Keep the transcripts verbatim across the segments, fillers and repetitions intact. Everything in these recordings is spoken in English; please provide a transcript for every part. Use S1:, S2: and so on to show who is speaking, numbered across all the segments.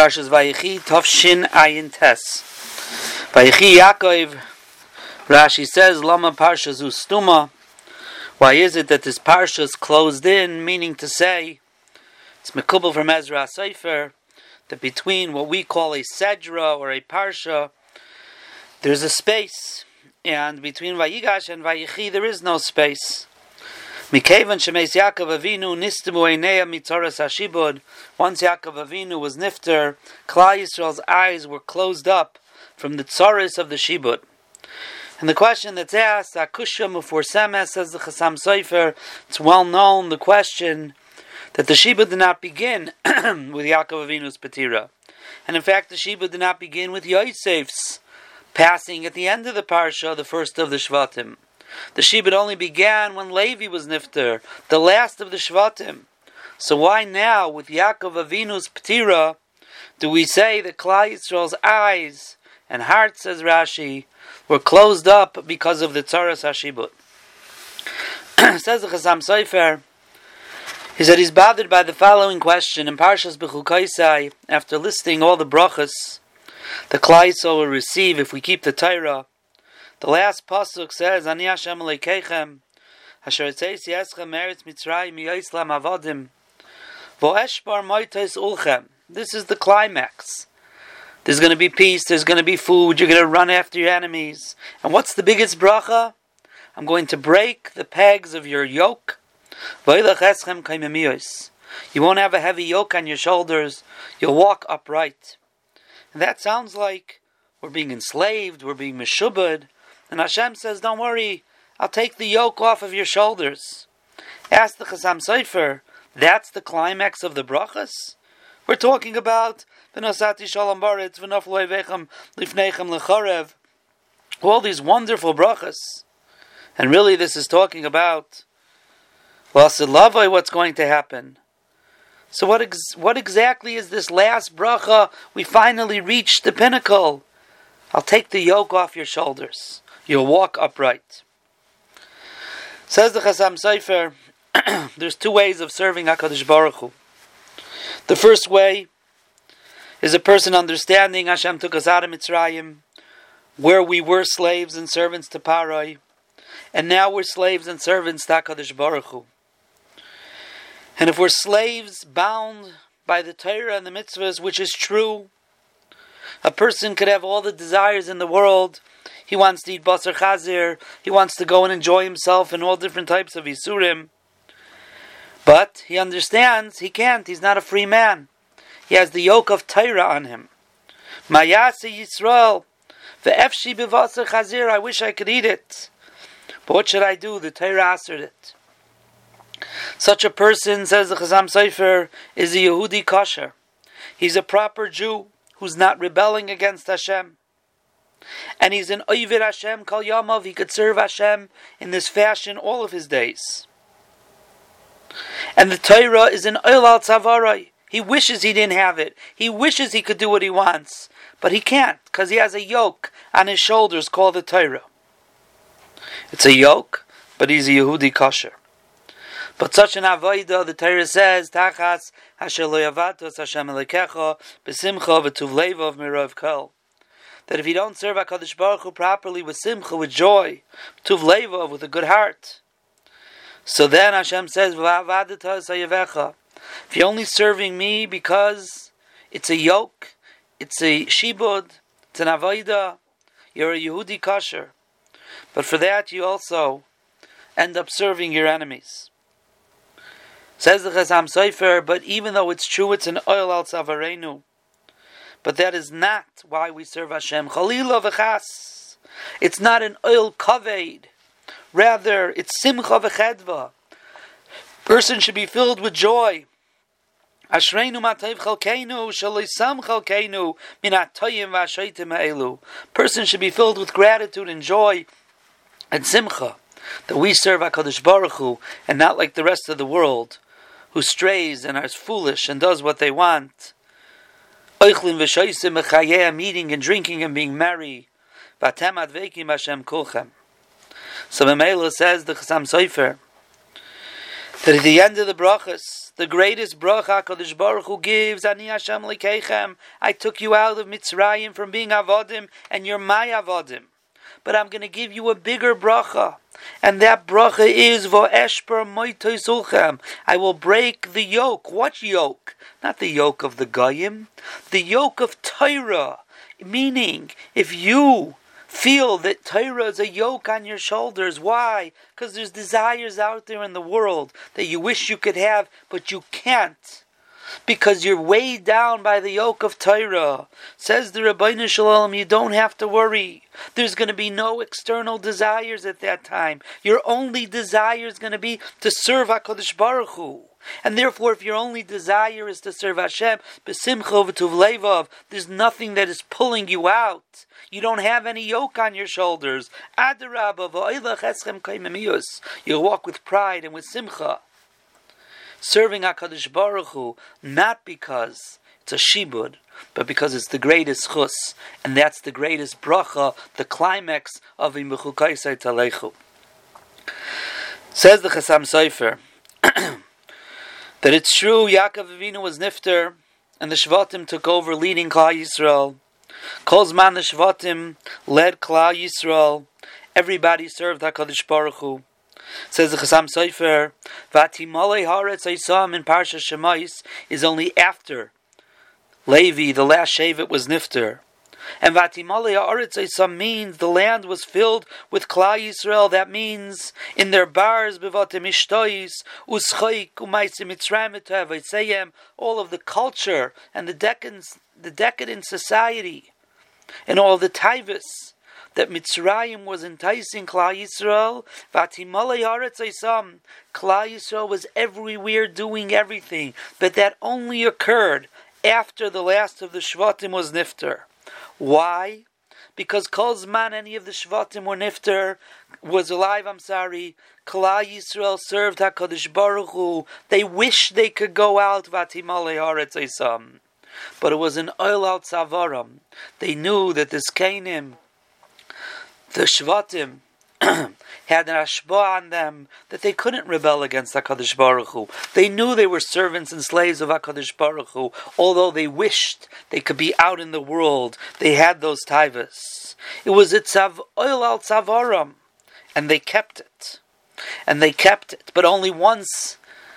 S1: Parshas Vayechi, Tovshin Ayin Tes. Vayechi Yaakov, Rashi says, Lama Parsha Zu Stuma. Why is it that this Parsha is closed in, meaning to say, it's Mekubal from Ezra Sefer, that between what we call a Sedra or a Parsha, there's a space, and between Vayigash and Vayechi there is no space. Mikevan shemeis Yaakov Avinu nistimu einei mitzaras hashibud. Once Yaakov Avinu was nifter, Klal Yisrael's eyes were closed up from the tzaras of the shibud. And the question that's asked, Akusha Muforsemes, says the Chasam Sofer, it's well known, the question that the shibud did not begin with Yaakov Avinu's patira. And in fact, the shibud did not begin with Yosef's passing at the end of the parsha, the first of the Shvatim. The shibud only began when Levi was nifter, the last of the Shvatim. So why now, with Yaakov Avinu's patira, do we say that Klal Yisrael's eyes and heart, says Rashi, were closed up because of the tzaras hashibud? Says the Chasam Sofer, he said he's bothered by the following question in Parshas Bechukoisai, after listing all the brachas the Klal Yisrael will receive if we keep the Torah. The last pasuk says, Ani Hashem Elokeichem, Asher Etzeis Yeschem Meretz Mitzrayim Yoislam Avodim, Vo'eshbar Moitos Ulchem. This is the climax. There's going to be peace, there's going to be food, you're going to run after your enemies. And what's the biggest bracha? I'm going to break the pegs of your yoke. Vo'ilach Eschem Kaimemiyos. You won't have a heavy yoke on your shoulders, you'll walk upright. And that sounds like we're being enslaved, we're being meshubad. And Hashem says, don't worry, I'll take the yoke off of your shoulders. Ask the Chasam Sofer, that's the climax of the brachas? We're talking about V'nosati Shalom Baretz, V'noflo Evechem Lifnechem Lechorev, all these wonderful brachas. And really this is talking about, well, Silavai, what's going to happen. So what ex- what exactly is this last bracha? We finally reached the pinnacle. I'll take the yoke off your shoulders. You'll walk upright. Says the Chasam Sofer, there's two ways of serving HaKadosh Baruch Hu. The first way is a person understanding Hashem took us out of Mitzrayim, where we were slaves and servants to Parai, and now we're slaves and servants to HaKadosh Baruch Hu. And if we're slaves bound by the Torah and the mitzvahs, which is true, a person could have all the desires in the world. He wants to eat basar chazir. He wants to go and enjoy himself in all different types of isurim. But he understands he can't. He's not a free man. He has the yoke of Torah on him. Mayase Yisrael, ve'efshi b'vasar chazir. I wish I could eat it, but what should I do? The Torah answered it. Such a person, says the Chasam Sofer, is a Yehudi kosher. He's a proper Jew who's not rebelling against Hashem. And he's an Oivir Hashem Kol Yamav. He could serve Hashem in this fashion all of his days. And the Torah is an Oil al Tzavarai. He wishes he didn't have it. He wishes he could do what he wants. But he can't, because he has a yoke on his shoulders called the Torah. It's a yoke, but he's a Yehudi kosher. But such an avodah, the Torah says, Tachas Hashem lo yavatos Hashem Elokecha b'simcha v'tuv levav mirov kol. That if you don't serve HaKadosh Baruch Hu properly with simcha, with joy, tuv levav, with a good heart, so then Hashem says, V'avadetas hayavecha. If you're only serving me because it's a yoke, it's a shibud, it's an avodah, you're a Yehudi kosher. But for that you also end up serving your enemies. Says the Chasam Sofer, but even though it's true it's an oil al tzavarenu, but that is not why we serve Hashem. Chalila v'chas. It's not an oil kaved. Rather, it's simcha v'chedva. Person should be filled with joy. Ashreinu matayv chalkeinu shalisam chalkeinu minatoyim v'ashaytim ha'elu. Person should be filled with gratitude and joy and simcha that we serve HaKadosh Baruch Hu and not like the rest of the world, who strays and is foolish and does what they want. Eating and drinking and being merry. So Mamela says the Chasam Sofer that at the end of the brachas The greatest bracha HaKadosh Baruch Hu gives, Ani Hashem Elokeichem, I took you out of Mitzrayim from being Avodim, and you're my Avodim. But I'm going to give you a bigger bracha. And that bracha is Vo'eshper Moitoi Sulchem. I will break the yoke. What yoke? Not the yoke of the Goyim. The yoke of Torah. Meaning, if you feel that Torah is a yoke on your shoulders, why? Because there's desires out there in the world that you wish you could have, but you can't. Because you're weighed down by the yoke of Torah. Says the Rabbeinu Shalom, you don't have to worry. There's going to be no external desires at that time. Your only desire is going to be to serve HaKadosh Baruch Hu. And therefore, if your only desire is to serve Hashem, b'simcha v'tuv levav, there's nothing that is pulling you out. You don't have any yoke on your shoulders. Adarabba v'oilach eschem kaimemiyus. You'll walk with pride and with simcha. Serving HaKadosh Baruch Hu, not because it's a shibud, but because it's the greatest chus, and that's the greatest bracha, the climax of Imechukaisai Talechu. Says the Chasam Sofer, that it's true Yaakov Avinu was nifter, and the Shvatim took over leading Klal Yisrael. Kol Zman the Shvatim led Klal Yisrael. Everybody served HaKadosh Baruch Hu. Says the Chasam Sofer, Vatimolei Haaretz Isam in Parsha Shemais is only after Levi, the last Shevet, was nifter. And Vatimolei Haaretz Isam means the land was filled with Klal Yisrael. That means in their bars, Bevatim Ishtois, Uschaik, Umaisim Mitzrayim Etavaytsayim, all of the culture and the decadent, the decadent society, and all the taivas that Mitzrayim was enticing Klal Yisrael. Vatimolei Haaretz Isam, Klal Yisrael was everywhere doing everything, but that only occurred after the last of the Shvatim was nifter. Why? Because Kol Zman any of the Shvatim were nifter, was alive, I'm sorry, Klal Yisrael served HaKadosh Baruch Hu. They wished they could go out, Vatimolei Haaretz Isam. But it was an oil al tzavaram. They knew that this Kainim, the Shvatim, had an ashba on them that they couldn't rebel against HaKadosh Baruch Hu. They knew they were servants and slaves of HaKadosh Baruch Hu, although they wished they could be out in the world. They had those taivas. It was a tzav, oil al tzavaram, and they kept it. And they kept it, but only once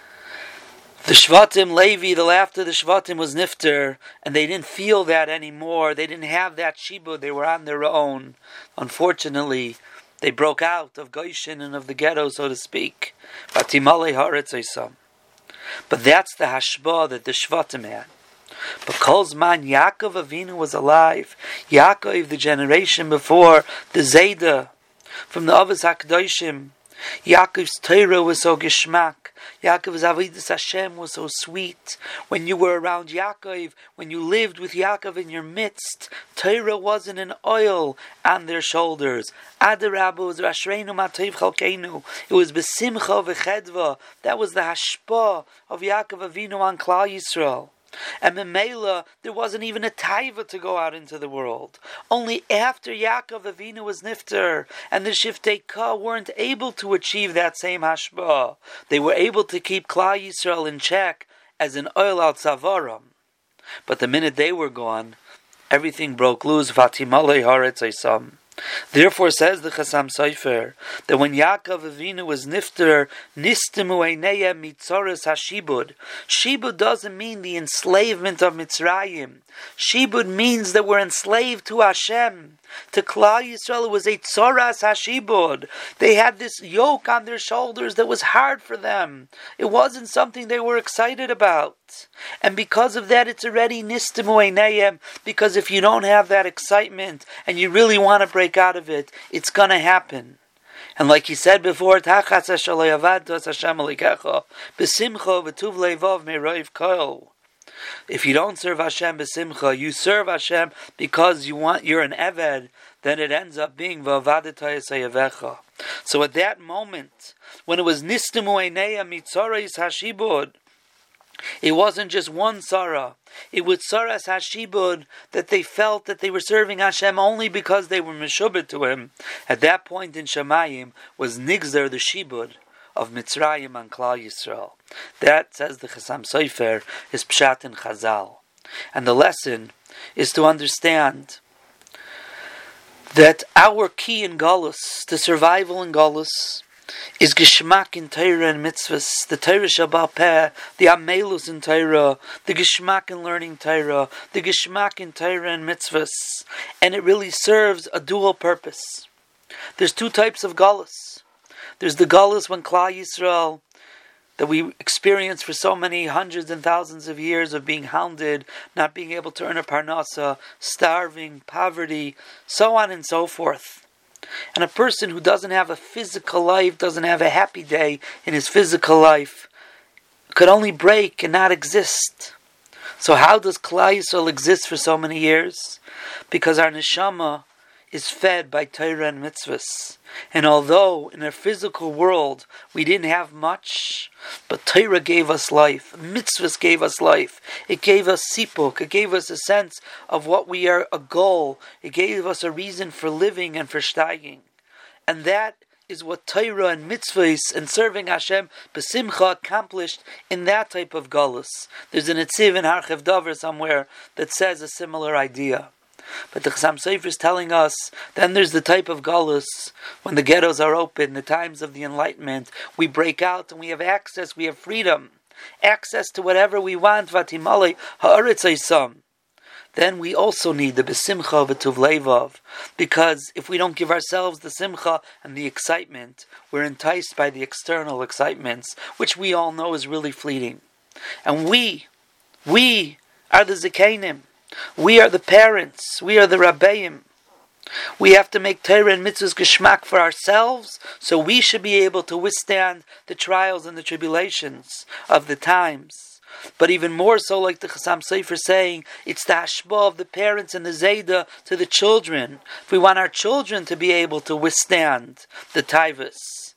S1: the Shvatim, Levi, the laughter of the Shvatim was nifter, and they didn't feel that anymore. They didn't have that shibud. They were on their own. Unfortunately, they broke out of Goshen and of the ghetto, so to speak. Vatimolei Haaretz Isam. But that's the hashba that the Shvatim had. But Kol Zman Yaakov Avinu was alive. Yaakov, the generation before, the Zayda, from the Avos HaKadoshim, Yaakov's Torah was so geschmack. Yaakov's Avodas Hashem was so sweet. When you were around Yaakov, when you lived with Yaakov in your midst, Torah wasn't an oil on their shoulders. Adarabba was Rashreinu Matov Chalkeinu. It was Besimcha V'chedva. That was the hashpa of Yaakov Avinu on Klal Yisrael. And Memela, there wasn't even a taiva to go out into the world. Only after Yaakov Avinu was nifter, and the Shiftei Ka weren't able to achieve that same hashba. They were able to keep Klal Yisrael in check as an oil al tzavaram. But the minute they were gone, everything broke loose. Vatimolei Haaretz Isam. Therefore, says the Chasam Sofer, that when Yaakov Avinu was nifter, nistimu einayim mitzoros hashibud. Shibud doesn't mean the enslavement of Mitzrayim. Shibud means that we're enslaved to Hashem. To Klal Yisrael, it was a tzoras hashibud. They had this yoke on their shoulders that was hard for them. It wasn't something they were excited about. And because of that, it's already nistimu einayim, because if you don't have that excitement, and you really want to break out of it, it's going to happen. And like he said before, besimcha v'tuv levav meroiv kol. If you don't serve Hashem besimcha, you serve Hashem because you want, you're an eved, then it ends up being v'avadetay sayavecha. So at that moment, when it was nistimu einayim mitzoros hashibud, it wasn't just one Sarah. It was Saras Hashibud that they felt that they were serving Hashem only because they were Meshubed to Him. At that point in Shemayim was Nigzer the Shibud of Mitzrayim and Klal Yisrael. That, says the Chassam Sofer, is Pshat in Chazal. And the lesson is to understand that our key in Galus, the survival in Galus, is Geshmak in Torah and Mitzvahs, the Torah Shabbat Peh, the Amelus in Torah, the Geshmak in learning Torah, the Geshmak in Torah and Mitzvahs, and it really serves a dual purpose. There's two types of Galus. There's the Galus when Klal Yisrael, that we experience for so many hundreds and thousands of years of being hounded, not being able to earn a parnasa, starving, poverty, so on and so forth. And a person who doesn't have a physical life, doesn't have a happy day in his physical life, could only break and not exist. So how does Klal Yisrael exist for so many years? Because our neshama is fed by Torah and mitzvahs. And although in our physical world we didn't have much, but Torah gave us life, mitzvahs gave us life, it gave us sipuk, it gave us a sense of what we are, a goal, it gave us a reason for living and for steiging. And that is what Torah and mitzvahs and serving Hashem b'simcha accomplished in that type of galus. There's an etziv in Harchev Dover somewhere that says a similar idea. But the Chassam Sofer is telling us, then there's the type of galus, when the ghettos are open, the times of the Enlightenment, we break out and we have access, we have freedom, access to whatever we want, vatimalei ha'aretz eisam. Then we also need the besimcha v'tuv levav, because if we don't give ourselves the simcha and the excitement, we're enticed by the external excitements, which we all know is really fleeting. And we, we are the zikanim. We are the parents. We are the rabbeim. We have to make Torah and mitzvahs geschmack for ourselves, so we should be able to withstand the trials and the tribulations of the times. But even more so, like the Chassam Sofer saying, it's the hashbah of the parents and the zayda to the children. If we want our children to be able to withstand the taivas,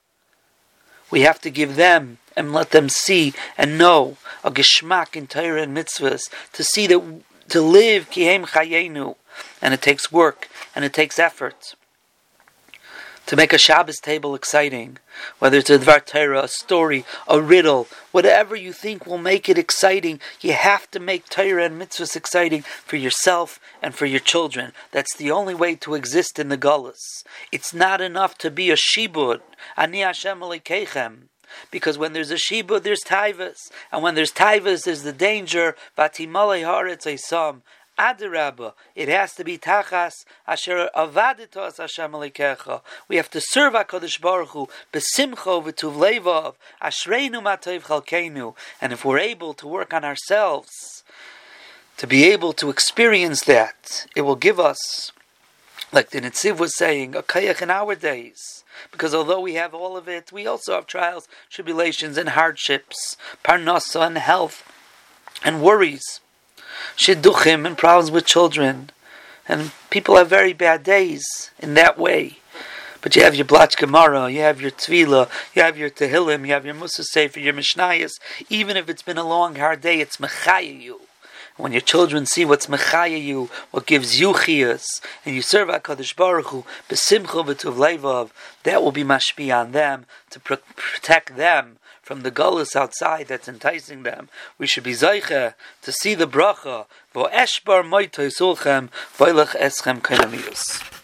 S1: we have to give them and let them see and know a geschmack in Torah and mitzvahs, to see that to live kihem chayenu, and it takes work and it takes effort to make a Shabbos table exciting, whether it's a Dvar Torah, a story, a riddle, whatever you think will make it exciting. You have to make Torah and mitzvahs exciting for yourself and for your children. That's the only way to exist in the galus. It's not enough to be a shibud, ani Hashem Elokeichem. Because when there's a shibud, there's taivas. And when there's taivas, there's the danger. Vatimalei haaretz eisam. Adarabba, it has to be tachas asher avaditos Hashem Elokecha. We have to serve HaKadosh Baruch Hu besimcha v'tuv levav ashreinu matayv chalkeinu. And if we're able to work on ourselves, to be able to experience that, it will give us, like the Netziv was saying, a kayach in our days. Because although we have all of it, we also have trials, tribulations, and hardships, parnasa and health, and worries, shidduchim and problems with children, and people have very bad days in that way. But you have your Blach Gemara, you have your Tvila, you have your Tehillim, you have your Musa Sefer, your Mishnayos. Even if it's been a long, hard day, it's mechaya you. When your children see what's mechaya you, what gives you chiyas, and you serve HaKadosh Baruch Hu, b'simcha v'tuv levav, that will be mashpi on them, to pr- protect them from the gullus outside that's enticing them. We should be zayche to see the bracha, v'o eshbar moitoi sulchem, v'oilech eschem kainamiyus.